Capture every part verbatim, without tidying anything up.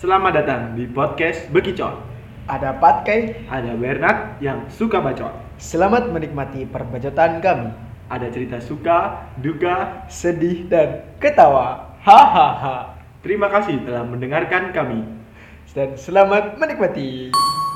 Selamat datang di podcast Bekicot. Ada Patkai, Ada Bernard yang suka bacot. selamat menikmati perbacotan kami. Ada cerita suka, duka. Sedih dan ketawa. Hahaha. Terima kasih telah mendengarkan kami. Dan selamat menikmati.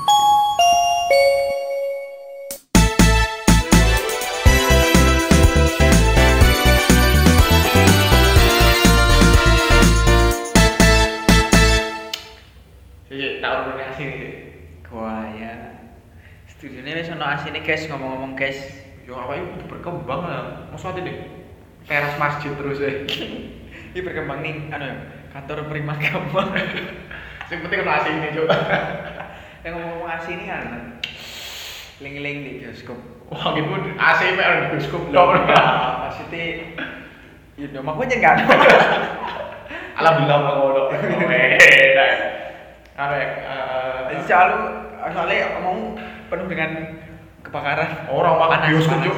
Iya, tak urun asine iki. Wah ya, studionya wis ono asine guys, ngomong-ngomong guys. Yo apa iki berkembang lah. Mosok deh teras masjid terus ya. Ini berkembang nih, anu ya, kantor Primagama. Sing penting ono asine, Cuk. Yang ngomong-ngomong asine kan, ling-ling di bioskop. Wah, gitu A C mek di bioskop Loh, tok. ya, maksudnya, ya dong, aku aja nggak ada. Alhamdulillah kok ngono. Eh, apa ya? Jadi selalu, soalnya ngomong penuh dengan kebakaran. Orang makan Panas, bioskop, panas. Cuk.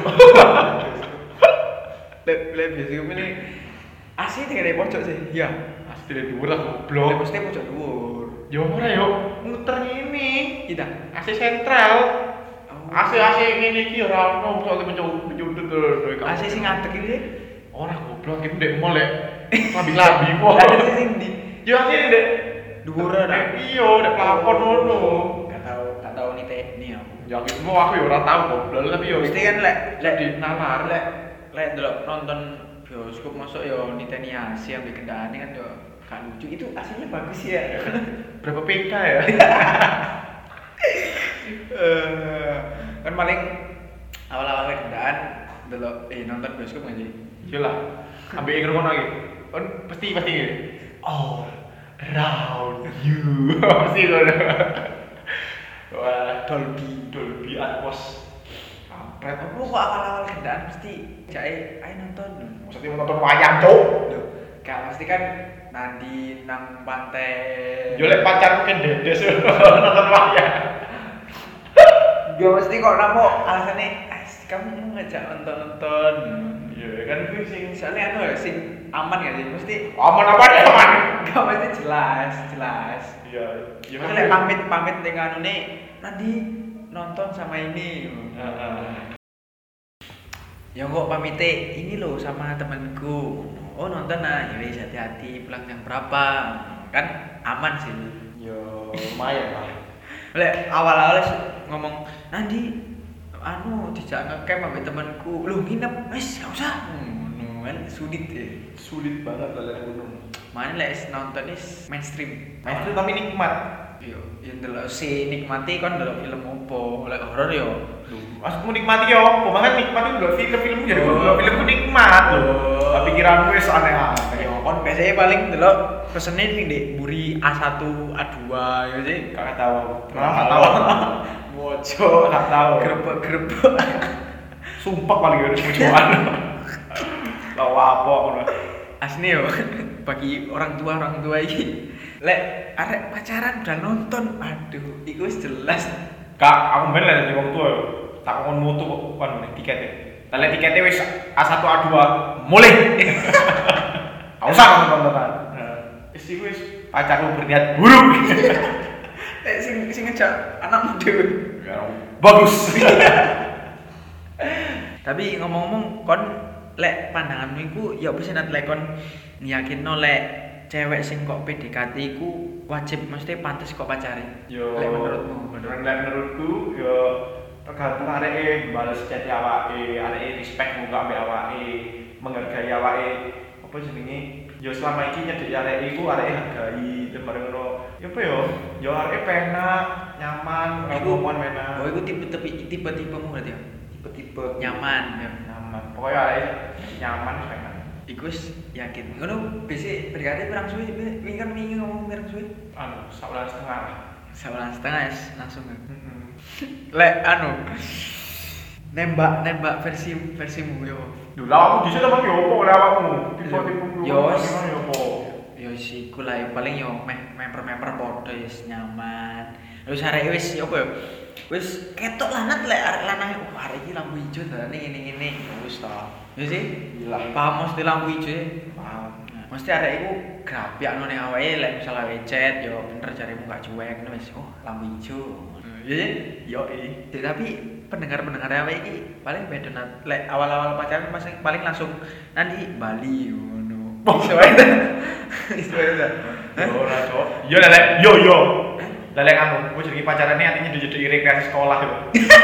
Le bioskop ini asli tinggal di pojok sih, ya. Asli dari dhuwur lah Le goblok. mesti pojok dhuwur. Yo ora yo, muter ngene. Kita. A C sentral. Oh. A C A C ngene iki ora ono soalnya menyudut menyudut terus. A C sing ngadeg iki. Ora goblok iki ndek mall lek. Lambi-lambi kok. Lah A C sing di Yo A C ndek dhuwur ora. iya, ndek plafon ngono. Enggak tahu, enggak tahu nih teknik aku. Ya gitu mau aku ya ora tahu goblok tapi yo Mesti kan lek lek di nalar lek lek delok nonton bioskop masuk yo niteni A C yang kendaraannya kan yo gak lucu. Itu aslinya bagus ya. berapa P K ya? Eh, kan paling awal-awal kendaan delok eh nonton bioskop nggak sih? Yo lah. Ambek ingin ngono iki. Kan pasti pasti ngene. Oh, around you. Pasti ngono. Wah, Dolby. Dolby Atmos. Kampret. Aku kok awal-awal kendaan mesti jae ayo nonton. Maksudnya mau nonton wayang, Cuk. Loh, gak mesti kan nandi nang pantai. Yo lek pacar kan dedes nonton wayang. Gak mesti kok namo alasannya "Ais, kamu mau ngajak nonton-nonton." Iya kan kuwi sing Soalnya anu ya sing aman gak sih? Mesti aman apa nih aman? gak mesti jelas, jelas. Iya, iya Mesti lek pamit-pamit dengan anu nih nanti nonton sama ini. Heeh. Ya kok pamite ini loh sama temanku. Oh nonton nah, ya wis hati-hati pulang jam berapa. Kan aman sih. Yo lumayan lah. Lek awal-awal ngomong nanti anu dijak ngecamp sama temanku. Loh nginep, wis gak usah. Ngono kan sulit ya. Sulit banget lah lek gunung. Mana lek nonton is mainstream. Mainstream tapi nikmat. Yo, yang delok si nikmati kan delok film opo, lek horor yo. Maksudmu nikmati ya apa? Makanya nikmat itu ndelok film-film jadi Oh. ndelok filmku nikmat lho. Oh. Tapi pikiranmu wis aneh-aneh. Yo kon biasanya paling delok pesene sing ndek mburi A satu, A dua yo sih. Kakak tahu. Ora Kakak tahu. tahu. Mojo, Gak tahu. grebek-grebek. Sumpah paling gede tujuan. Lawa apa aku. Asli yo bagi orang tua orang tua iki. Lek arek pacaran udah nonton, aduh, iku wis jelas. Kak, aku ben lah dari wong tua yo. Tak kon mutu kok kan beli tiket ya. Tale tiketnya wis A satu A dua mulai. Aku usah kamu tontonan. Wis iku wis pacarmu berniat buruk. Eh sing sing ngejak anakmu dhewe. Bagus. Tapi ngomong-ngomong kon lek pandanganmu iku ya apa sih nat lek kon yakinno lek cewek sing kok P D K T iku wajib mesti pantes kok pacare. Yo, Lek menurutmu, menurut lek menurutku yo tergantung areke bales chat awake, areke respect muka ambek awake, menghargai awake. Apa jenenge? Yo selama iki nyedeki areke iku areke hargai terus bareng ngono. Yo apa yo? Yo areke penak, nyaman, Iku ngomongan penak. Oh, iku tipe-tipe tipe-tipemu berarti ya. Tipe-tipe nyaman ya. Nyaman. Pokoknya areke nyaman penak. Iku wis yakin. Ngono bisi P D K T pirang suwe? Wingi kan wingi ngomong pirang suwe? Anu, sebulan setengah. Sebulan setengah ya langsung. Heeh. Lek anu nembak nembak versi versimu yo. Lho, lah aku dhisik temen yo opo oleh awakmu? Tipe-tipe Yo, gimana yo opo? Yo siku lah paling yo meh member-member padha wis nyaman. Terus arek wis yo apa yo? Wis ketok lanat lek arek lanang oh arek iki lampu ijo dalane ngene-ngene. Wis ta. Ya sih? Gila. Paham mesti lampu ijo. Paham. Nah, mesti arek iku grapiakno ning awake lek misal awake chat yo bener jaremu gak cuek ngono wis oh lampu ijo. Iya, yo eh. Tapi pendengar-pendengar awake iki paling beda nat lek awal-awal pacaran paling paling langsung nanti Bali ngono. Iso ae. Iso ae. Yo ora, Cok. Yo lek yo yo. Lek anu, kowe jenenge pacarane artinya dijadi rekreasi sekolah yo.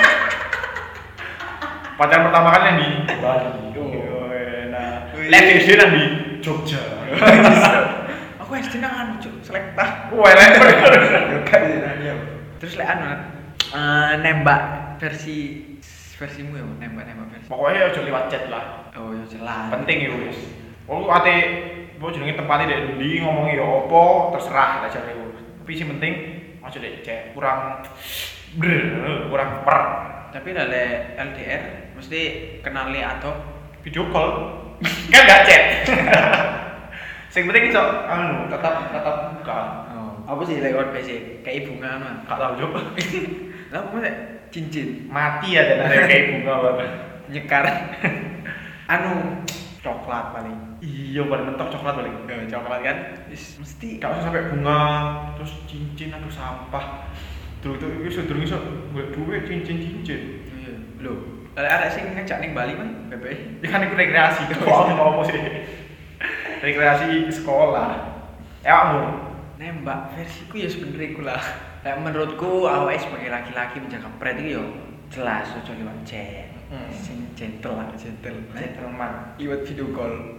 Pacaran pertama kali yang di Bali. Oh, enak. Lek S D nang di Jogja. Aku S D nang anu cuk, Selekta. Wah, lek. Terus lek anu eh, nembak versi versimu ya, nembak-nembak versi. Pokoknya aja lewat chat lah. Oh, ya jelas. Penting ya wis. Oh, ate apa jenenge tempatnya dek ndi ngomongi ya apa terserah lah jane iku. Tapi sing penting aja dek chat. Kurang brr, kurang per. Tapi lah lek L D R mesti kenali atau Video call. Kan enggak chat. Sing penting iso anu tetap tetap buka. oh, apa sih lewat P C kayak bunga anu. Gak tau yo. Lah apa sih cincin Mati ya dan ada kayak bunga banget. nyekar anu coklat paling. Iya, paling mentok coklat paling. Eh, coklat kan is, mesti Gak usah sampai bunga, terus cincin atau sampah. Terus itu itu sudah iso golek duit cincin-cincin. iya lho ada sing ngejak ning Bali man B P I. Ya kan itu rekreasi. Kok ngomong apa sih? Rekreasi sekolah. Eh, kamu Nembak versiku ya sebenarnya iku lah. Kayak menurutku awake sebagai laki-laki menjaga pret itu yo jelas ojo liwat chat. Hmm. Sing gentle lah, gentle. gentleman. Liwat video call.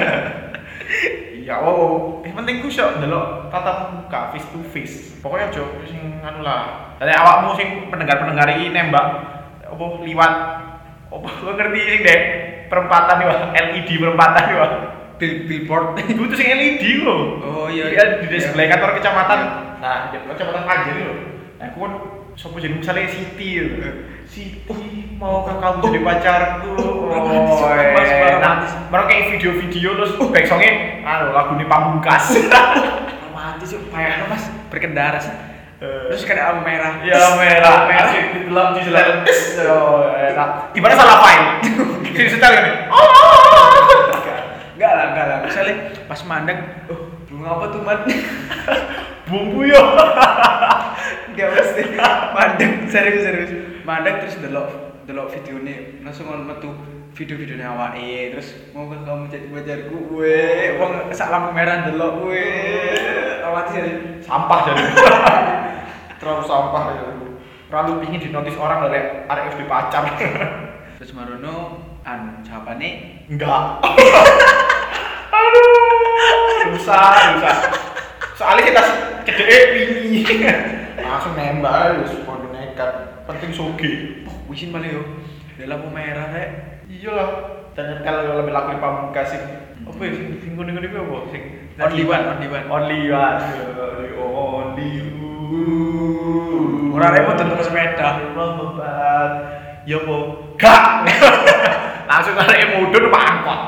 Iya, oh, yang penting ku sok ndelok tatap muka face to face. Pokoknya aja sing anu lah. Dari awakmu sing pendengar-pendengar iki nembak apa liwat apa lu ngerti sing dek perempatan iki, L E D perempatan iki, Wak. Bill billboard. Itu sing L E D lho. Oh iya. Iya di display kantor kecamatan. Nah, di kecamatan Panjen lho. Nah, aku kan sopo jeneng misalnya Siti lho. Siti, mau ke kamu jadi pacarku. Oh, nah, baru kayak video-video terus back songnya anu lagu ini Pamungkas. Romantis yuk, kayak Mas berkendara sih. Terus kan lampu merah. Ya merah, asik di dalam di dalam. Oh, enak. Gimana salah file? Sini setel ini. Enggak lah, enggak lah. Misalnya pas mandang, oh, bunga apa tuh man? Bumbu yo. Enggak mesti. Mandang serius serius. Mandang terus delok delok videone langsung ngono metu video-videone awake terus mau ke kamu jadi pacarku. Weh, wong sak lampu merah delok weh. Awati ya. Sampah jadi. Terlalu sampah ya. Terlalu ingin dinotis orang dari arek wis pacar. Terus marono anu jawabane Enggak. Aduh, susah, susah. Soalnya kita cedek ini. Langsung nembak wis podo nekat. Penting soge. oh wisin paling yo. Ada lampu merah rek. Iyalah. Dan kalau lebih laku di Pamungkas sing apa ya sing sing ngene ngene apa sing Only one, only one. Only one. Only only one. Ora repot tentu sepeda. Membebat. Ya po. Gak. Langsung arek mudun Pak angkot.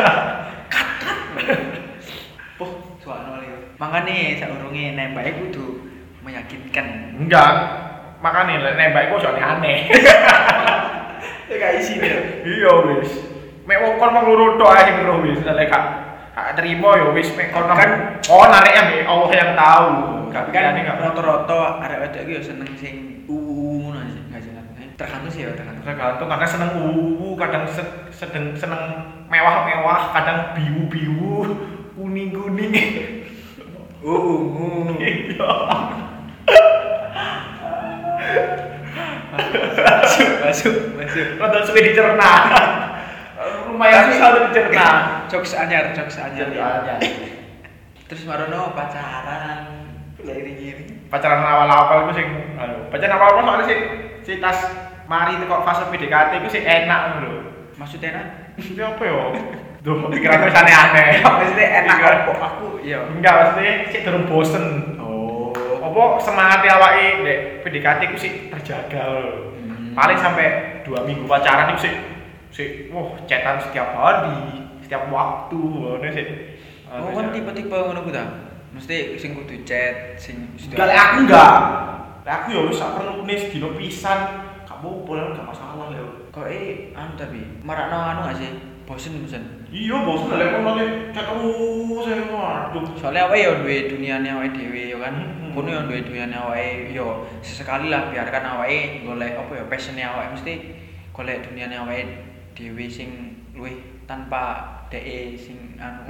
Poh, suara lho. Makane saurunge nembake kudu meyakinkan. Enggak. Makane lek nembak iku ojo aneh. Ya gak isi deh. Iya wis. Mek wong kon mung loro tok ae sing roh wis lek gak gak terima ya wis mek kon kan oh narek ambek Allah yang tahu. Tapi kan rata-rata arek wedok iki ya seneng sing uh ngono sih, gak jelas. Tergantung sih ya, tergantung. Tergantung kadang seneng uwu, kadang se- sedeng seneng mewah-mewah, kadang biu-biu, kuning-kuning. Uh, uh. Iya. Masuk, masuk, masuk. Rada suwe dicerna. Lumayan susah dicerna. Jokes anyar, jokes anyar. Anyar. Terus marono pacaran. Lek ini. Pacaran awal-awal itu sing anu, pacaran awal-awal soalnya sih si tas mari kok fase P D K T itu sih enak ngono lho. Maksudnya enak? Iya apa ya? Duh, pikiranku wis aneh-aneh. Maksudnya enak kok aku iya. Enggak, maksudnya sih durung bosen. Oh. Apa semangat awake ndek P D K T ku sih terjaga lho. Hmm. Paling sampai dua minggu pacaran itu sih sih wah chatan setiap hari, setiap waktu ngono sih. Oh, kan tipe-tipe ngono ku ta? Mesti sing kudu chat, sing Enggak, lek aku enggak. Lek aku ya wis sak perlune sedina pisan. Gak apa-apa, gak masalah lho. Kok eh anu tapi marakno anu gak sih? Bosen bosen. Iya, bos lek ngono lek terus saya waduh. Soalnya awake yo duwe duniane awake dhewe yo kan. Hmm. Kono yo duwe duniane awake yo sesekali lah biarkan awake golek apa ya passion-e awake mesti golek duniane awake dhewe sing luwih tanpa dhek sing anu.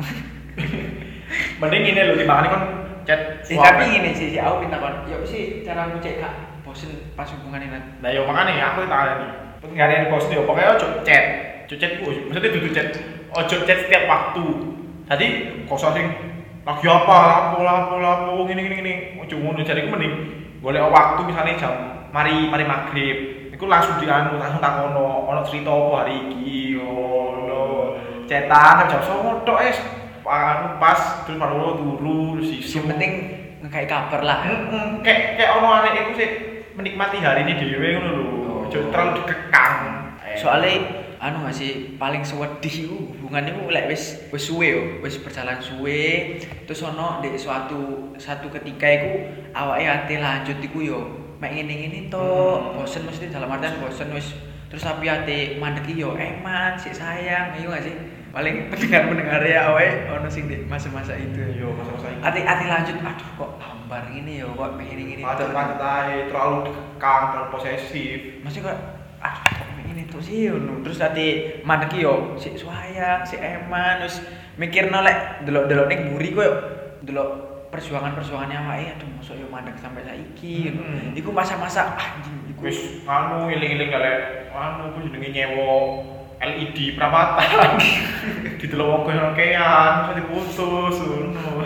Mending ngene lho timbangane kon chat. Eh tapi ngene sih, aku minta kon, yo sih cara cek gak bosen pas hubungane nang. Nah yo makane aku tak alani. Penggarian bos yo pokoknya ojo chat. Ojo chat ku, maksudnya dudu chat. Ojo chat setiap waktu. Jadi koso sing lagi apa, lapo lapo lapo ngene ngene ngene. Ojo ngono jariku mending golek waktu misalnya jam mari mari maghrib. Iku langsung dianu langsung takono, ono cerita apa hari iki ngono. Cetan jam songo tok es. Anu pas terus baru turu sisu. Yang penting ngkai kabar lah. Heeh, kayak kayak ono arek iku sih menikmati hari ini dhewe ngono lho. Ojo terlalu dikekang. Soalnya anu gak sih paling sewedih iku hubungan iku lek wis wis suwe yo, wis berjalan suwe terus ono ndek suatu satu ketika iku awake ate lanjut iku yo mek ngene-ngene to, Hmm. bosen mesti dalam artian bosen wis terus tapi ate mandek yo eman sik sayang iya gak sih? Paling pendengar-pendengar ya awake ono sing di masa-masa itu. Yo masa-masa iki. Ati-ati lanjut aduh kok hambar gini yo kok mek ngene-ngene to. Macet-macet ae, terlalu dikekang, terlalu posesif. Masih kok ah kok ini tuh sih ngono. Terus tadi mandeki yo sik sayang, sik eman terus mikirno lek delok-delok ning mburi kok delok perjuangan-perjuangannya awake aduh mosok yo mandek sampai saiki. Hmm. Iku masa-masa anjing iku Wis anu eling-eling galek anu ku jenenge nyewa L E D perawatan. Didelok wong kean, terus diputus ngono.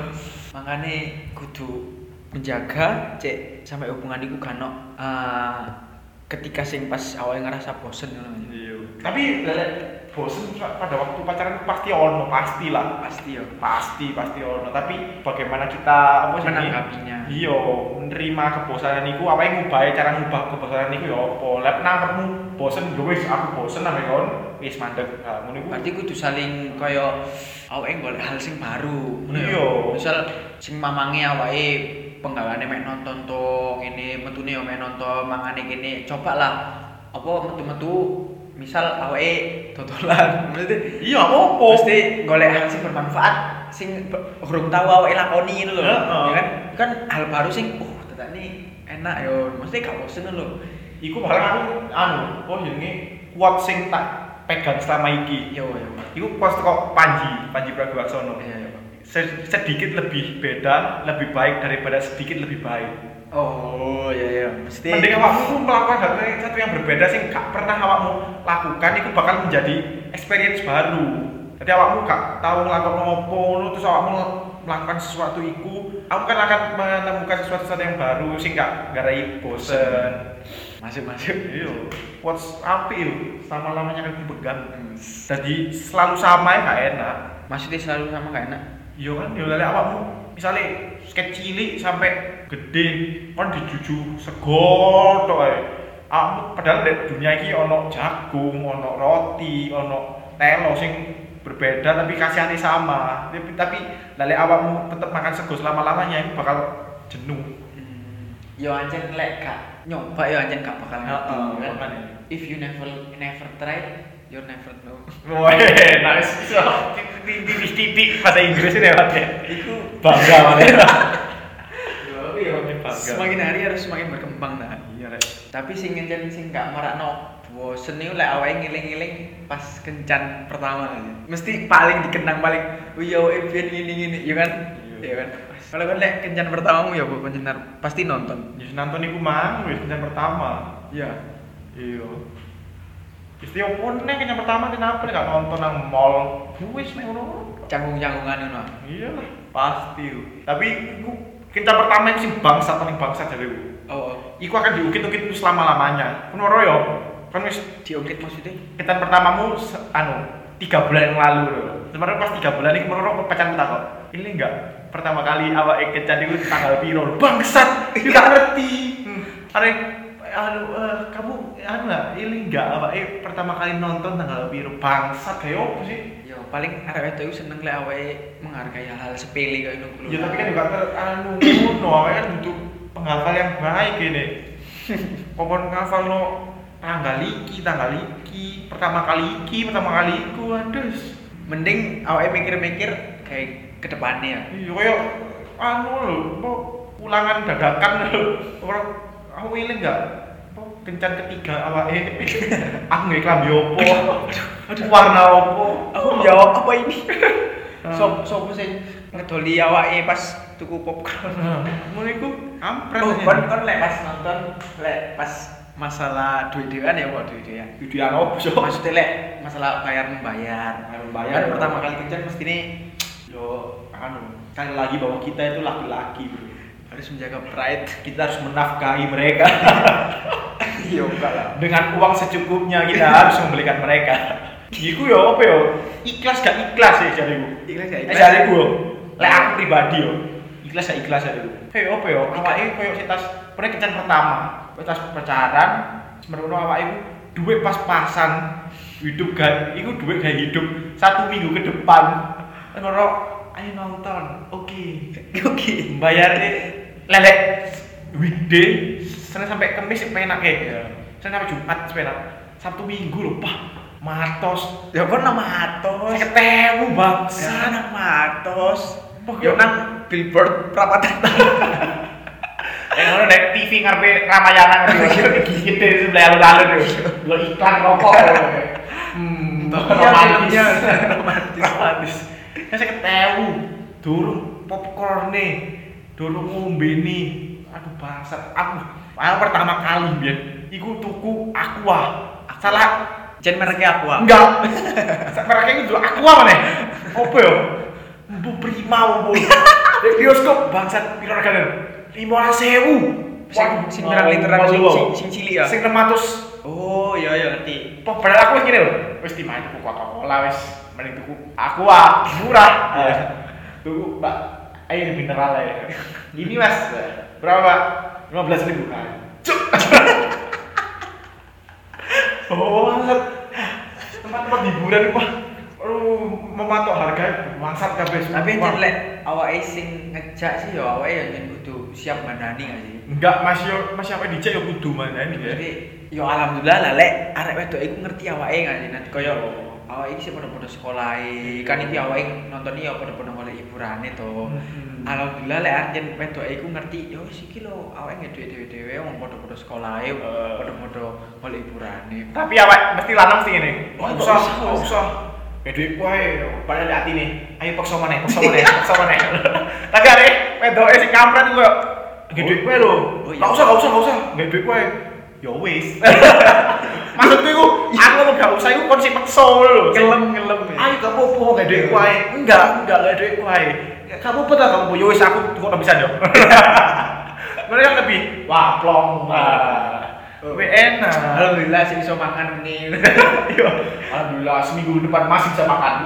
makane kudu menjaga cek sampai hubungan iku gak ono uh, ketika sing pas awalnya ngerasa bosen ngono. Iya. Tapi lek bosen pada waktu pacaran pasti ono, pastilah. Pasti yo. Pasti pasti ono. Tapi bagaimana kita apa sih Menanggapinya. Iya, menerima kebosanan iku apa yang ngubahe cara ngubah kebosanan iku ya apa? Lek nangkepmu bosen yo wis aku bosen ame kon, wis mandeg. Nah, ngono iku. Berarti kudu saling kaya awake golek hal sing baru. ngono ya. Iya. Misal sing mamange awake penggaweane mek nonton to ngene, metune yo mek nonton, mangane kene. Cobalah apa metu-metu misal awake dodolan. Mesti Iya, apa? mesti golek hal sing bermanfaat sing urung tau awake lakoni ngono lho. Heeh. Ya kan? Kan hal baru sing oh tetane enak yo. Mesti gak bosen lho. Iku paling aku anu, oh jenenge quote sing tak pegang selama iki. Yo yo. Iku quote teko Panji, Panji Pragiwaksono. Iya yo. Se- sedikit lebih beda, lebih baik daripada sedikit lebih baik. Oh, iya iya, mesti Mending awakmu melakukan hal satu yang berbeda sing gak pernah awakmu lakukan, itu bakal menjadi experience baru. Jadi awakmu gak tahu ngelakuin apa, terus awakmu melakukan sesuatu itu, aku kan akan menemukan sesuatu sesuatu yang baru sing gak garai bosen. masuk-masuk. Iya, what's api yo, sama lamanya kan dipegang. Jadi selalu sama ya gak enak. Maksudnya selalu sama gak enak? Iya kan, ya lek awakmu misalnya kecil sampai gede kan dijuju sego tok ae. Awakmu padahal di dunia iki ono jagung, ono roti, ono telo sing berbeda tapi kasihane sama. Tapi tapi lek awakmu tetep makan sego selama-lamanya itu bakal jenuh. Hmm. Yo anjen lek gak nyoba yo anjen gak bakal ngerti Heeh, kan. makanya. If you never never try, you never know. Wah, nice. So, titik-titik bahasa Inggris ini lewat ya. Iku Bangga banget. iya, bangga. semakin hari harus semakin berkembang nah. Iya, Rek. Tapi sing ngencen sing gak marakno bosen iku lek awake ngiling-ngiling pas kencan pertama aja. Mesti paling dikenang paling oh iya awake biyen ngene-ngene, ya kan? Iya. Iya kan? Kalau kan lek kencan pertamamu ya apa kencan pasti nonton. Wis nonton iku mang, wis kencan pertama. Iya. Iya. Istilah pun nek kencan pertama kenapa nek gak nonton nang mall? Wis nek ngono. Canggung-canggungan ngono. Iya lah, pasti. Tapi iku kencan pertama itu sing bangsat paling bangsat jare. Oh, Iku akan diukit-ukit selama-lamanya. Kan ora ya? Kan wis diungkit maksudnya? kencan pertamamu se- anu tiga bulan yang lalu lho. Sebenarnya pas tiga bulan iki menurut pacarmu tak kok. Ini enggak pertama kali awake kencan iku tanggal piro? Bangsat, iku gak ngerti. Hmm. Are anu eh, kamu anu enggak ini enggak awake pertama kali nonton tanggal piro? Bangsat kayak opo sih? Yo paling arek wedok iku seneng lek awake menghargai hal-hal sepele kayak ngono. Ya tapi kan juga ter anu ngono awake kan butuh penghafal yang baik ini. Popon ngafalno tanggal iki, tanggal iki, pertama kali iki, pertama kali iku, aduh. Mending awake mikir-mikir kayak ke depannya ya. Iya koyo anu lho, apa ulangan dadakan lho. Ora aku eling enggak? Apa kencan ketiga awake. Aku nggak klambi opo? Aduh, warna opo? Aku jawab apa ini? Sop sopo sing ngedoli awake pas tuku popcorn. Ngono iku ampret. Oh, kon kon lek pas nonton lek pas masalah duit dewan ya kok duit dewan. Videoan opo so? Maksudnya lek masalah bayar membayar. Bayar membayar. Kan pertama kali kencan mesti nih Yo, anu, sekali lagi bahwa kita itu laki-laki, bro. harus menjaga pride. Kita harus menafkahi mereka. Iya enggak lah. Dengan uang secukupnya kita harus membelikan mereka. Iku yo apa yo? Ikhlas gak ikhlas ya jariku. Ikhlas gak Eh ikhlas? jariku. Lek aku pribadi yo. Ikhlas gak ikhlas jariku. Hei apa yo? Awake koyo setas pernah kencan pertama. Tas pacaran, semerono awake iku duit pas-pasan. Hidup gak iku duit gak hidup satu minggu ke depan. Ngono ayo nonton. Oke. Oke. Bayarnya lelek weekday Senin sampai Kamis penak ya. Senin sampai Jumat penak. Sabtu Minggu lho, Pak. Matos. Ya kon nang matos. Saya ketemu bangsa. Ya nang matos. Wah, Ya nang billboard Pramatan. Eh ngono nek T V ngarepe Ramayana ngerti gede sebelah alun-alun lho. Lo iklan rokok. Hmm, romantis. romantis. Romantis. Saya ketemu durung popcorn nih. Durung ngombe nih. Aduh bangsat. Aku aku pertama kali biyen iku tuku Aqua. Salah Jen mereknya aku. enggak. Mereknya itu Aqua mana? Apa yo? Bu Prima bu. Di bioskop bangsat piro regane? lima belas ribu. Sing sing pirang literan sing sing- sing cilik ya. Sing enam ratus. Oh, iya iya ngerti. Pok padahal aku wis ngene lho. Wis timah tuku Coca-Cola wis mending tuku Aqua murah. Tuku Mbak air mineral ya. Ini Mas. Berapa, Pak? lima belas ribu kan. Cuk. Oh, bangsat. Tempat-tempat hiburan Pak. Aduh, mematok harga bangsat kabeh. Tapi jen lek awake sing ngejak sih ya awake ya jen kudu siap mandani gak sih? enggak Mas yo Mas apa dicek yo kudu mana ini ya. Jadi yo alhamdulillah lah lek arek wedok iku ngerti awake gak sih? Nanti koyo awake iki sih padha-padha sekolah kan iki awake nonton iki yo padha-padha golek hiburane to. Hmm. Alhamdulillah lek arek jen wedok iku ngerti yo wis iki lho awake ngedhe dhewe-dhewe wong padha-padha sekolah e padha-padha golek hiburane. Tapi awak mesti lanang sih ngene. Oh, Oh, nggak usah, usah, nggak nggak usah. Ya duit wae, padahal di hati nih. Ayo paksa maneh, paksa maneh, paksa maneh. Tapi arek wedoke sing kampret iku yo nggih duit wae lho. Oh, iya. Enggak usah, enggak usah, enggak usah. Nggih duit wae. Ya wis. Maksudku iku aku ngomong enggak usah iku kon sing paksa lho. Ngelem-ngelem ya. Ayo gak apa-apa, nggak duit wae. Enggak, enggak enggak duit wae. Ya kamu apa tak kamu? Ya wis aku kok bisa yo. Mereka lebih wah plong. Wah. Lebih enak. Alhamdulillah sih iso makan nih. Iya. Alhamdulillah seminggu depan masih bisa makan.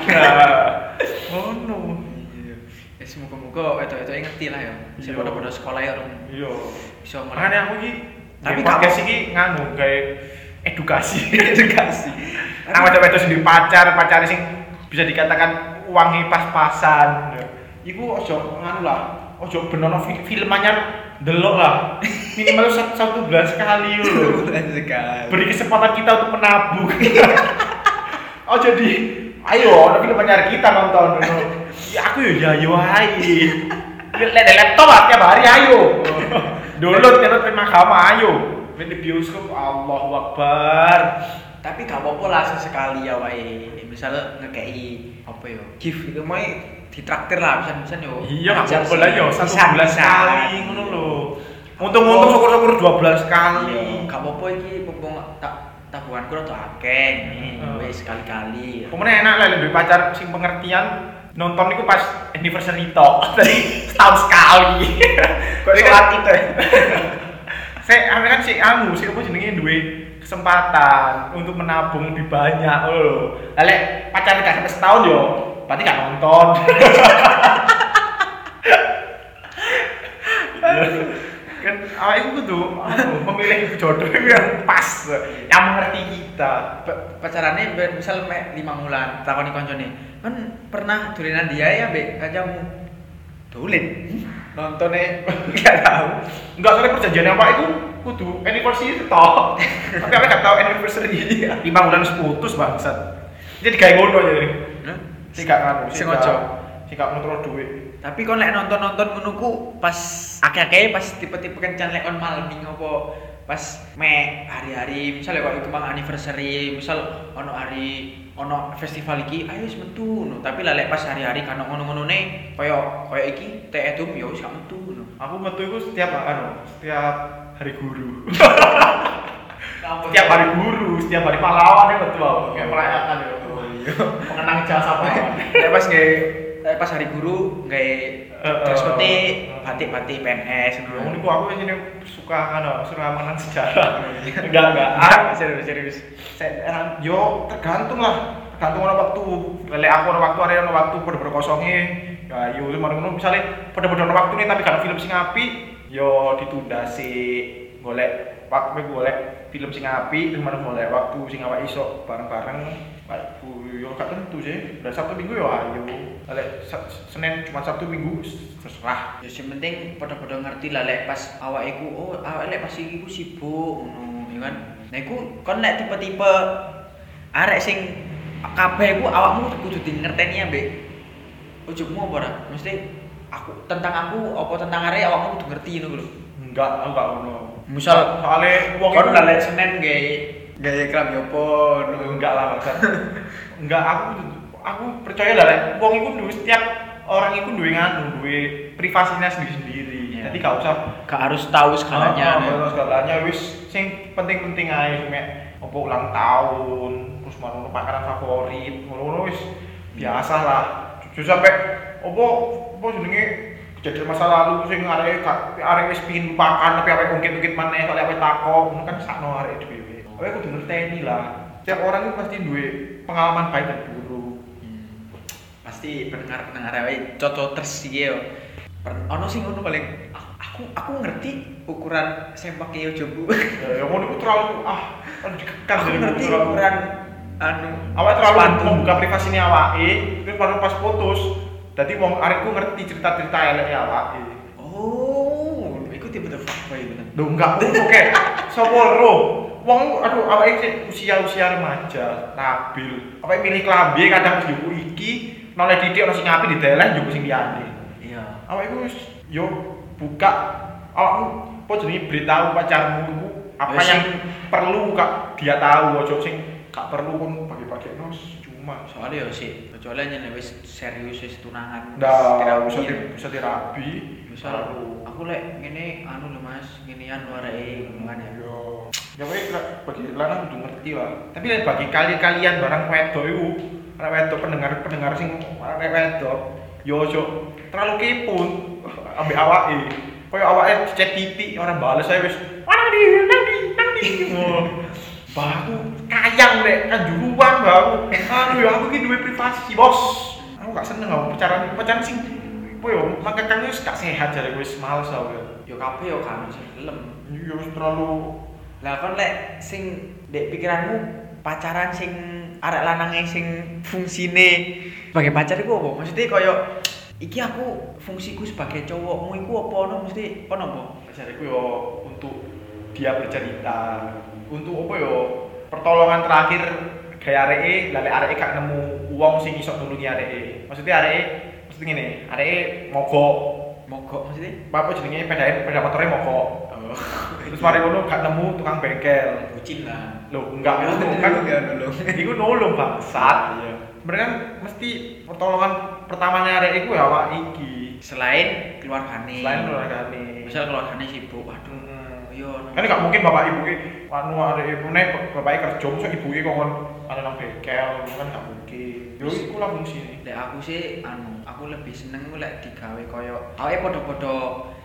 Oh no. Iya. Ya semoga-moga wedok-wedoke ngerti lah ya. Sing Iya. padha-padha sekolah ya orang Iya. iso ngerti. Makanya aku iki Tapi tapi podcast kamu- iki nganu kayak edukasi. edukasi. Nah, wedok-wedok sing duwe pacar, pacare sing bisa dikatakan uangnya pas-pasan. Iku ojo nganu lah. Ojo benono fi- film anyar delok lah. Minimal satu, satu bulan sekali lho. Bulan sekali. Beri kesempatan kita untuk menabung. Oh jadi, ayo, ada film anyar kita nonton. Ya aku ya ya yo ae. Lihat di laptop lah tiap hari ayo. Download download Prima Gama ayo. Main di bioskop Allahu Akbar. Tapi gak apa-apa lah sesekali ya wae. Misal ngekei apa ya? Gift itu mau ditraktir lah bisa-bisa yo. Iya, nggak Ajar apa-apa sih. lah yo, satu Bisa- bulan bisa. sekali ngono lho. Untung-untung syukur-syukur dua bulan sekali. Iya, gak apa-apa iki mumpung tak tabunganku rada akeh nih. Hmm. Wis sekali-kali. Pokoknya enak lah lebih pacar sing pengertian nonton itu pas anniversary tok. Jadi setahun sekali. Kok Ini sholat kan- itu ya? Saya ame kan si anu, si apa jenenge duwe kesempatan untuk menabung lebih banyak lho. Lah lek pacar gak sampai setahun yo, berarti gak nonton. Kan awak itu kudu anu, memilih jodoh yang pas, yang mengerti kita. Pa- pacarannya ben- misal mek lima bulan takoni koncone kan pernah dolenan dia ya mbek kancamu dolen nontonnya nggak tahu Enggak, soalnya perjanjian apa itu kudu anniversary itu toh. Tapi aku gak tahu anniversary lima bulan putus bangsat. Jadi kayak ngono aja nih. Hah? Sing gak anu, sing Sengaja. gak sing gak ngontrol duit. Tapi kon lek nonton-nonton ngono ku pas akeh-akeh pas tipe-tipe kencan lek kon malming apa pas me hari-hari misalnya kok iku mang anniversary, misal ono hari ono festival iki ayo wis metu no. Tapi lah lek pas hari-hari kan ngono-ngonone kaya kaya iki teh edum ya wis gak metu no. Aku metu iku setiap anu, setiap hari guru. Kamu Setiap hari guru, setiap hari pahlawan ya betul aku. Kayak merayakan ya. Mengenang jasa pahlawan. lek pas nge lek pas hari guru gawe Eh, dress eh, putih, eh. batik-batik P N S Ya, ngono. niku aku sini suka anu, suka mengenang sejarah. Enggak, enggak. Ah, serius serius. Saya, yo tergantung lah, tergantung ono waktu. Lele aku ono waktu, ada ono waktu pada berkosongnya. Ya, yo mana ngono misalnya pada pada ono waktu nih tapi kalau film sing apik, yo ditunda sih. Golek waktu golek film sing apik, terus mana golek waktu sing awak iso bareng-bareng. Aku yo gak tentu sih. Udah Sabtu Minggu yo ayo. Lele Senin cuma Sabtu Minggu terserah. Ya sing penting padha-padha ngerti lah lek pas awake iku oh awake lek pas iki ku sibuk ngono ya kan. Nah iku kon lek tipe-tipe arek sing kabeh iku awakmu kudu di ngerteni ambek ujugmu apa ora? Mesti aku tentang aku apa tentang arek awakmu kudu ngerti ngono lho. Enggak, aku enggak ono. Misal soalnya wong kon iku- lah lek Senin gawe gawe klambi opo ngono. enggak lah maksud. Enggak, aku aku percaya lah Rek. Wong iku duwe setiap orang iku duwe nganu, duwe privasinya sendiri-sendiri. Iya. Jadi gak usah Gak harus tahu segalanya. Oh, oh, segalanya wis sing penting-penting ae mek apa ulang tahun, terus mana makanan favorit, ngono-ngono wis biasa lah. Jujur sampe apa apa jenenge kejadian masa lalu sing arek arek wis pengin lupakan tapi arek ungkit-ungkit maneh soalnya arek takok, ngono kan sakno arek dhewe. Awake kudu ngerteni lah. Setiap orang itu pasti duwe pengalaman baik dan buruk. Hmm. Pasti pendengar-pendengar awake cocoters iki yo. Per- Ono sing ngono paling aku aku ngerti ukuran sempake yo jobu. Ya yang ngono iku terlalu ah terlalu dikekang Aku dari ngerti terlalu- ukuran anu awake terlalu sepatu. membuka privasine awake, terus baru pas putus. Dadi wong arekku ngerti cerita-cerita elek awake. Oh, iku tipe-tipe fuckboy bener. Lho enggak ngono kek. Sapa ro? Wong aduh awake sik usia-usia remaja, labil. Awake milih klambi kadang njuku iki, noleh titik ono sing apik dideleh njuku sing liyane. Iya. Awake iku wis yo buka awakmu apa jenenge beritahu pacarmu iku apa Ya, yang sing- perlu kak dia tahu ojo sing gak perlu pun bagi-bagi nos cuma Soalnya yo sih, kecuali yen wis serius wis tunangan. ndak terapi. bisa di, bisa dirabi Misal aku lek ngene anu lho Mas, ngenian areke ngono kan ya. yo ya wae bagi lanang kudu ngerti lah tapi lek bagi kalian-kalian barang wedok iku arek wedok pendengar-pendengar sing arek wedok yo ojo terlalu kepo ambek awake koyo awake chat titik orang bales saya wis mana di nanti nanti oh baku kayang lek kanjuruan baku anu ya aku iki duwe privasi bos aku gak seneng aku pacaran pacaran sing apa yo maka kan wis gak sehat jare wis males aku Yo kabeh yo kan sing gelem. yo wis terlalu Lah kon lek sing ndek pikiranmu pacaran sing arek lanange sing fungsine sebagai pacar iku apa? Maksudnya koyo iki aku fungsiku sebagai cowokmu iku apa ono mesti ono apa? pacarku yo untuk dia bercerita untuk apa yo pertolongan terakhir gaya areke lale areke gak nemu wong sing iso nulungi areke maksudnya areke mesti ngene areke mogok Mogok maksudnya? apa jenenge sepeda sepeda motore mogok Oh. terus mari ngono gak nemu tukang bengkel Bucin lah. lho enggak ngono kan enggak nolong. iku nolong bangsat iya sebenarnya kan mesti pertolongan pertamanya areke iku ya awak iki Selain keluargane. selain keluargane Misal keluargane sibuk, waduh. Hmm. Yo. Kan gak mungkin bapak ibu ki anu arek ibune bapake kerja mosok ibuke kok ana nang bengkel kan gak mungkin. Yo iku lah fungsine. Lek aku sih anu, aku lebih seneng ku lek digawe koyo awake padha-padha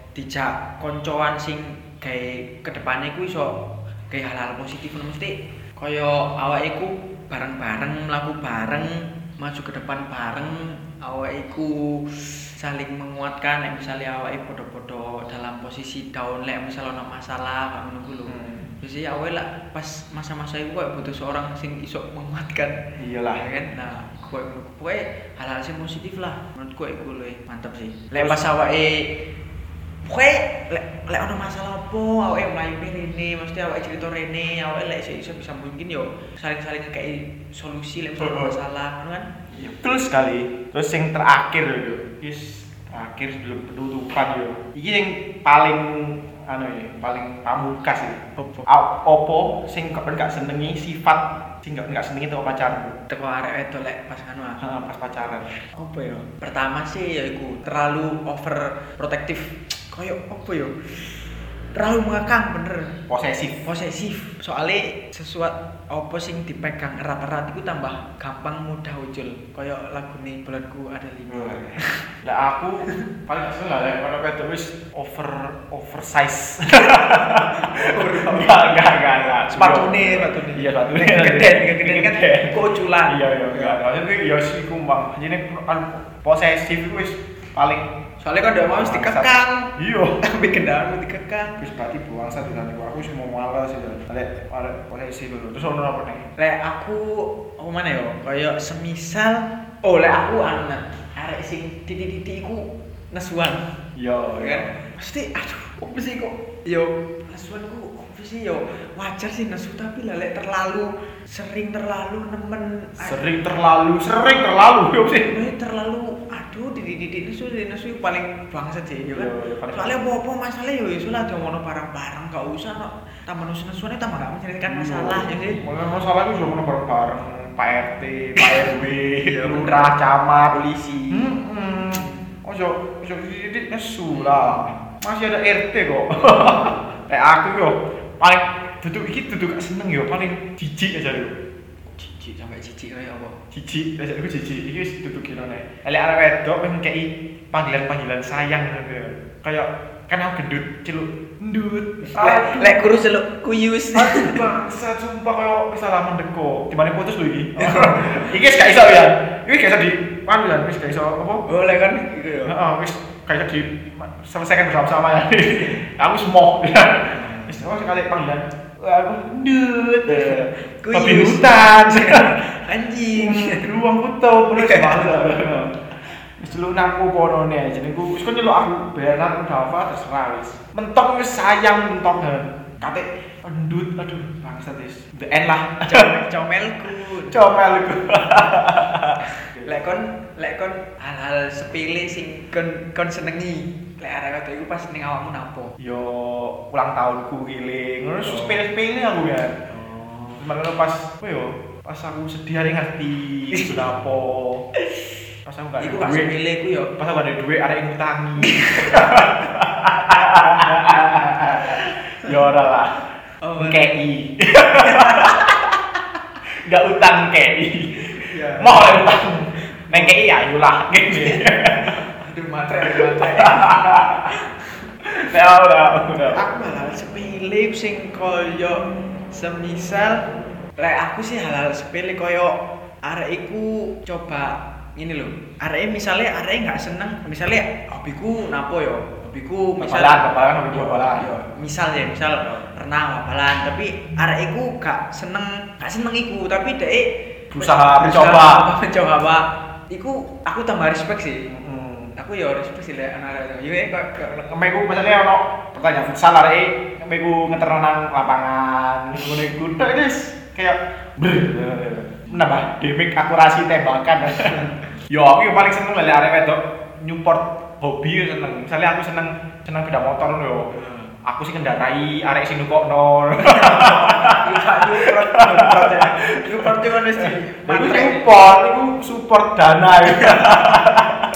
dijak koncoan sing gawe kedepane ku iso gawe hal-hal positif ngono mesti koyo awake iku bareng-bareng mlaku bareng, maju ke depan bareng, awake iku saling menguatkan lek misalnya awake padha-padha dalam posisi down lek misal ana masalah kok ngono ku lho. Hmm. Jadi awake lah pas masa-masa itu kayak butuh seorang sing iso menguatkan. Iyalah. Ya kan? Nah, kowe kowe hal-hal sing positif lah menurutku iku luwih mantep sih. Lek pas awake Pokoke lek lek ono masalah apa awake mlayune rene, mesti awake cerita rene, awake lek iso bisa mungkin yo saling-saling ngekei solusi lek misalnya masalah, ngono kan? Iya, betul sekali. Terus yang terakhir yo, yes, terakhir sebelum penutupan yo. Iki yang paling anu ya, paling pamungkas ya. Opo? Opo sing kok gak senengi sifat sing gak gak senengi teko pacarmu. Teko arek wedok lek pas anu ah. Heeh, pas pacaran. Apa ya? Pertama sih ya iku terlalu overprotective. Kayak apa ya? Terlalu mengekang bener. Posesif. Posesif. Soalnya sesuatu apa sing dipegang erat-erat itu tambah gampang mudah ucul. Kayak lagune bulanku ada lima. Lah aku paling gak seneng lah kalau wedok wis over oversize. Enggak, enggak, enggak, enggak. Sepatune, sepatune. Iya, sepatune. Geden, geden kan keuculan. Iya, iya, enggak. Maksudnya ya sih kumbang. Jadi kan posesif itu wis paling Soalnya kan udah mau mesti dikekang. Iya. Tapi kendaraan dikekang. Wis berarti buangsa dengan aku aku sih mau malas ya. Lek arek posesif dulu. Terus ono apa nih? Lek aku apa mana ya? Kayak semisal oh lek aku anak arek sing titik-titik iku nesuan. Yo, Ya kan? Pasti aduh, apa sih kok yo nesuan ku apa sih yo wajar sih nesu tapi lah lek terlalu sering terlalu nemen Sering terlalu, sering terlalu yo sih. Lek terlalu aduh titik-titik nesu nesu paling bangsat sih ya kan. Yo, yo, paling Soalnya apa-apa masalah yo iso lah ngono bareng-bareng gak usah no tambah nesu-nesuane tambah gak menceritakan masalah ya sih. Masalah masalah itu sudah bareng-bareng Pak R T, Pak R W, Iya, lurah, camat, Polisi. Hmm, ojo, ojo titik nesu lah. Masih ada R T kok. Kayak aku yo paling duduk iki duduk gak seneng yo paling jijik aja yo. Jijik sampai jijik kayak apa? Jijik, biasa aku jijik. Iki wis duduk kene nek. Elek arek wedok pengen kei panggilan-panggilan sayang gitu. Kayak kan aku gendut, celuk ndut. Lek lek guru seluk kuyus. Aduh bangsa sumpah kayak bisa lah mendeko. Dimana putus lho iki. Iki wis gak iso ya. Iki gak iso di panggilan wis gak iso apa? Boleh kan gitu ya. Heeh, wis gak iso di selesaikan bersama-sama ya. Aku semok ya. Wis oh sekali panggilan. Aku ndut. Babi hutan. Anjing. Ruang kutu terus bangsa. Wis lunakku kono ne jenengku wis kon nyeluk aku Bernard Dava terserah wis. Mentok wis sayang mentok. Kate endut aduh bangsat wis. The end lah. Comelku. Comelku. Lek kon lek kon hal-hal sepele sing kon kon senengi. Lek arek wedok iku pas ning awakmu napo? Yo ulang tahunku giling. Ngono sepele-sepele aku ya. Oh. Mereka pas apa yo? Pas aku sedih hari ngerti kenapa. Pas aku gak Iku ada pas duit. sepele ku yo. Pas aku gak ada duit arek ngutangi. Ya ora lah. Oh, K I. Gak utang K I. Iya. Mau utang. Neng K I ayo lah gini. Aduh matre matre. Ya udah, udah. Aku malah sepele sing koyo semisal lek aku sih hal-hal sepele koyo arek iku coba ini loh. Arek misalnya arek nggak seneng, misalnya hobiku napo yo? Hobiku misal Babalan, babalan, hobi babalan. Yo, misal ya, misal renang babalan, tapi arek iku gak seneng, gak seneng iku, tapi dek Berusaha mencoba. mencoba apa? Iku aku tambah respect sih. Hmm. Aku ya respect sih lek anak-anak. Yo kok Kemeku misalnya ono pertanyaan futsal arek kemeku ngeterno nang lapangan ngene iku tok guys kayak brr menambah damage akurasi tembakan. Yo aku yang paling seneng lek arek wedok nyupport hobi yo seneng. Misalnya aku seneng seneng sepeda motor yo. Aku sih kendarai arek sing nukokno. Gak nyupport, nyupport ya. Nyupport cuma wis di Iku support, iku support dana.